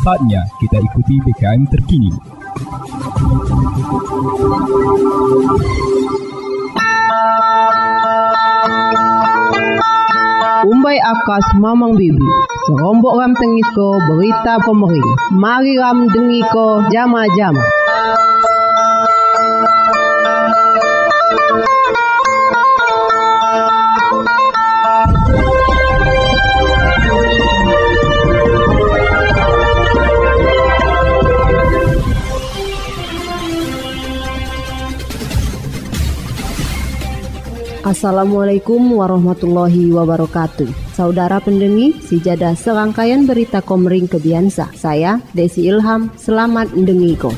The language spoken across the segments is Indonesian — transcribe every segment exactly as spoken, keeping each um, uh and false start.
Saatnya kita ikuti B K M terkini. Umbai akas mamang bibi, serombok ram tengiko berita pemering. Mari ram dengiko jama-jama. Assalamualaikum warahmatullahi wabarakatuh. Saudara pendengi, sejadah serangkaian berita Komering Kebiansa. Saya Desi Ilham, selamat mendengiko.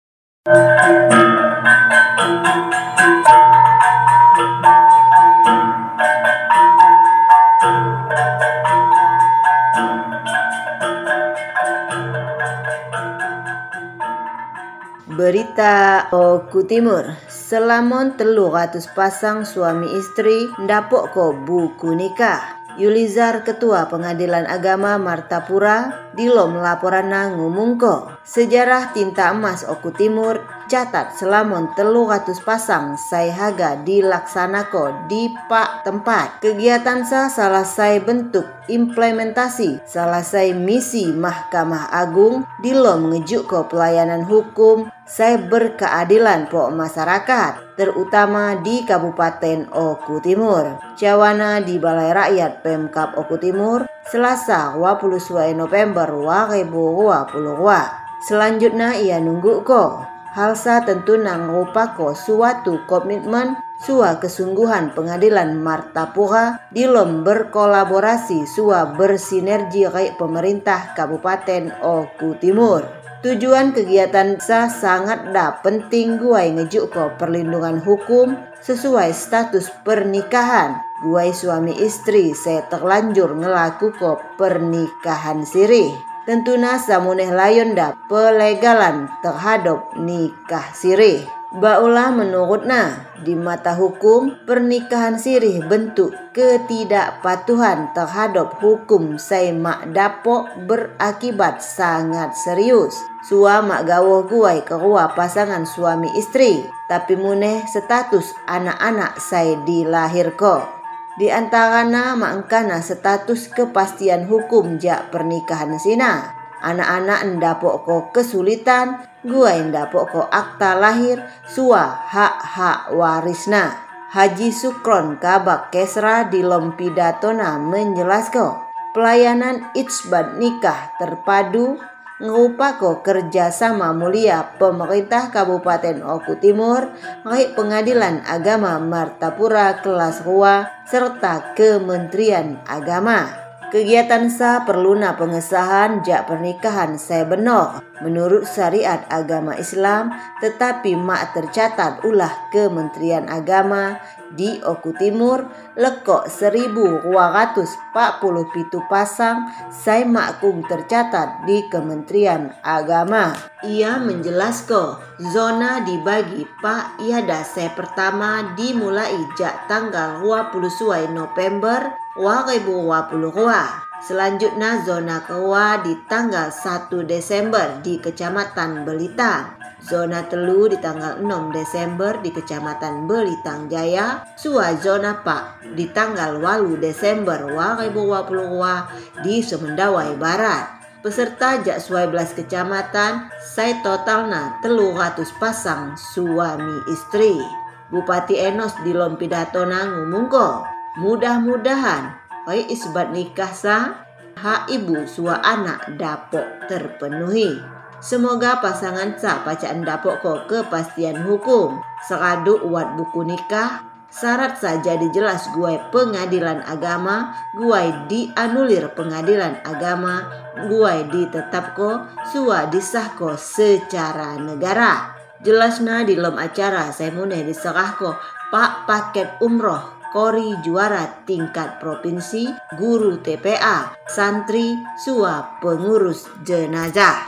Berita Oku Timur, selamon telu ratus pasang suami istri ndapok ko buku nikah. Yulizar Ketua Pengadilan Agama Martapura dilom laporanna ngumung ko. Sejarah tinta emas Oku Timur catat selamon telu ratus pasang sai haga dilaksanako di pak tempat. Kegiatan sa selesai bentuk implementasi selesai misi Mahkamah Agung dilom ngejuk ko pelayanan hukum sai berkeadilan po masyarakat, terutama di Kabupaten Oku Timur. Cawana di Balai Rakyat Pemkab Oku Timur, Selasa dua puluh dua November dua ribu dua puluh dua. Selanjutnya ia nunggu ko. Halsa tentu nangrupako suatu komitmen sua kesungguhan Pengadilan Martapura dilom berkolaborasi sua bersinergi rei pemerintah Kabupaten Oku Timur. Tujuan kegiatan sa sangat da penting guai ngejuk ko perlindungan hukum sesuai status pernikahan. Guai suami istri saya terlanjur ngelaku ko pernikahan sirih. Tentuna samuneh layon da pelegalan terhadap nikah sirih. Baulah menurutna, di mata hukum, pernikahan sirih bentuk ketidakpatuhan terhadap hukum sai mak dapok berakibat sangat serius. Sua mak gawoh guai kerua pasangan suami istri, tapi muneh status anak-anak sai dilahirko. Di antarana mangkana status kepastian hukum jak pernikahan sina. Anak-anak ndapok ko kesulitan, gua ndapok ko akta lahir, sua hak-hak warisna. Haji Sukron Kabak Kesra di Lompidatona menjelaskan, pelayanan itsbat nikah terpadu ngupako kerjasama mulia pemerintah Kabupaten Oku Timur, baik Pengadilan Agama Martapura kelas dua serta Kementerian Agama. Kegiatan sa perluna pengesahan jak pernikahan saya benar menurut syariat agama Islam, tetapi mak tercatat ulah Kementerian Agama di Oku Timur lekok seribu dua ratus empat puluh pitu pasang sai makung tercatat di Kementerian Agama. Ia menjelaskan zona dibagi pak iada saya pertama dimulai jak tanggal dua puluh dua November dua ribu dua puluh dua. Selanjutnya zona kedua di tanggal satu Desember di Kecamatan Belitang. Zona telu di tanggal enam Desember di Kecamatan Belitang Jaya. Sua zona pak di tanggal delapan Desember dua ribu dua puluh dua di Semendawai Barat. Peserta jak dua belas kecamatan, sai totalna telu ratus pasang suami istri. Bupati Enos di Lompidatona ngumung ko, mudah-mudahan oi isbat nikah sa hak ibu sua anak dapok terpenuhi. Semoga pasangan sa pacaan dapok ko kepastian hukum. Seradu uat buku nikah, syarat saja dijelas guai Pengadilan Agama, guai dianulir Pengadilan Agama, guai ditetapko, sua disahko secara negara. Jelasna di lom acara saya muneh diserahko pak paket umroh kori juara tingkat provinsi, guru T P A, santri, sua pengurus jenazah.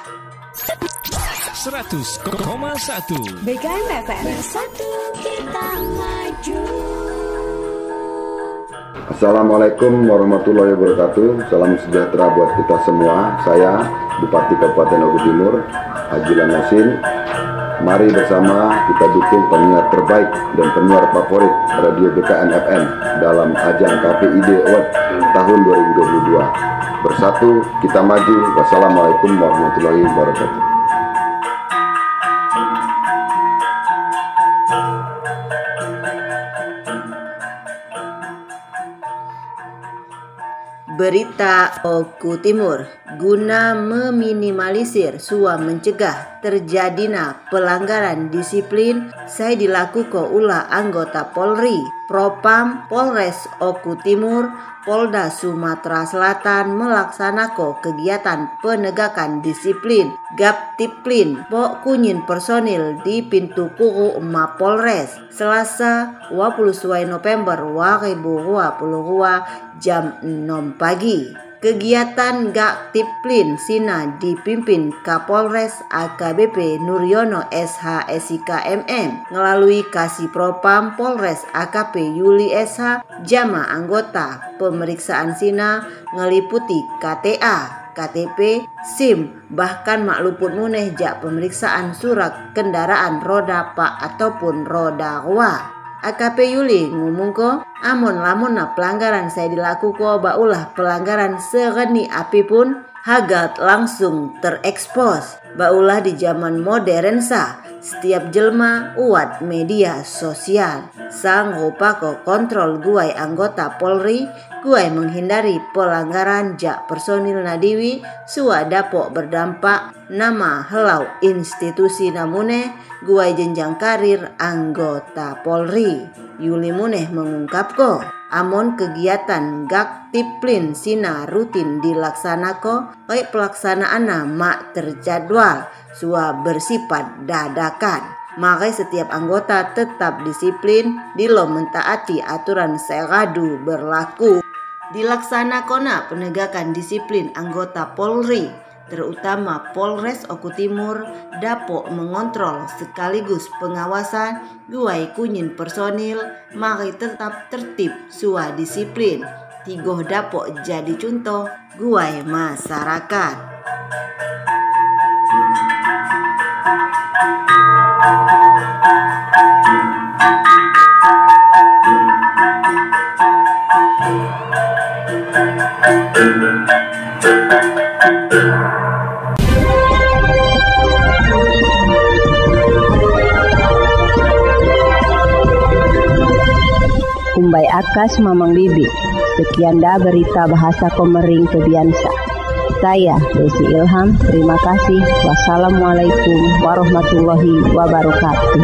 seratus koma satu B K M F M. Bersatu kita maju. Assalamualaikum warahmatullahi wabarakatuh. Salam sejahtera buat kita semua. Saya Bupati Kabupaten Oku Timur, Haji Lanosin. Mari bersama kita dukung penyiar terbaik dan penyiar favorit Radio B K N F M dalam ajang K P I D Award tahun dua ribu dua puluh dua. Bersatu kita maju. Wassalamualaikum warahmatullahi wabarakatuh. Berita Oku Timur, guna meminimalisir sua mencegah terjadinya pelanggaran disiplin saya dilakukan ulah anggota Polri, Propam Polres Oku Timur, Polda Sumatera Selatan melaksanakan kegiatan penegakan disiplin Gaptiplin Pok Kunyin personil di pintu kuru Mapolres Selasa dua puluh November dua ribu dua puluh dua jam enam pagi. Kegiatan Gaptiplin Sina dipimpin Kapolres A K B P Nuryono S H S I K M M melalui Kasih Propam Polres A K P Yuli S H. Jama anggota pemeriksaan Sina ngeliputi K T A, K T P, SIM, bahkan makluput muneh jak pemeriksaan surat kendaraan roda pak ataupun roda dua. A K P Yuli ngomong ko, amon lamun na pelanggaran saya dilakukan baulah pelanggaran sereni apapun hagat langsung terekspos. Baulah di zaman modern sa, setiap jelma uat media sosial. Sang rupa ko kontrol guai anggota Polri, guai menghindari pelanggaran jak personil nadiwi, sua dapok berdampak nama helau institusi namune, guai jenjang karir anggota Polri. Yuli muneh mengungkap ko, amon kegiatan Gaptiplin Sina rutin dilaksanakan, baik pelaksanaanna mak terjadwal, sua bersifat dadakan. Maka setiap anggota tetap disiplin, dilo mentaati aturan seradu berlaku. Dilaksanakan penegakan disiplin anggota Polri, terutama Polres Oku Timur, dapok mengontrol sekaligus pengawasan guai kunyin personil, mari tetap tertib sua disiplin. Tigoh dapok jadi contoh guai masyarakat. Kumbai Akas Mamang Bibi. Sekian dah berita bahasa Komering Kebiansa. Saya Desi Ilham, terima kasih. Wassalamualaikum warahmatullahi wabarakatuh.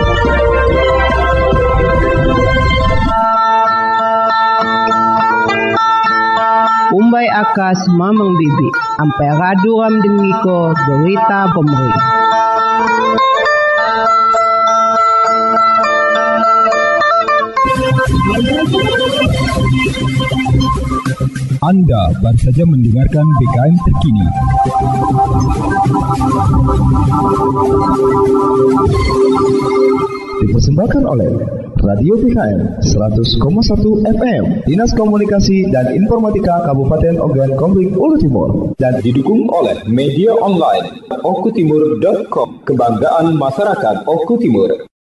Kumbai Akas Mamang Bibi. Ampai radu ram dengiko berita Komering. Anda baru saja mendengarkan B K M terkini. Dipersembahkan oleh Radio B K M seratus koma satu F M, Dinas Komunikasi dan Informatika Kabupaten Ogan Komering Ulu Timur, dan didukung oleh media online okutimur dot com, kebanggaan masyarakat Oku Timur.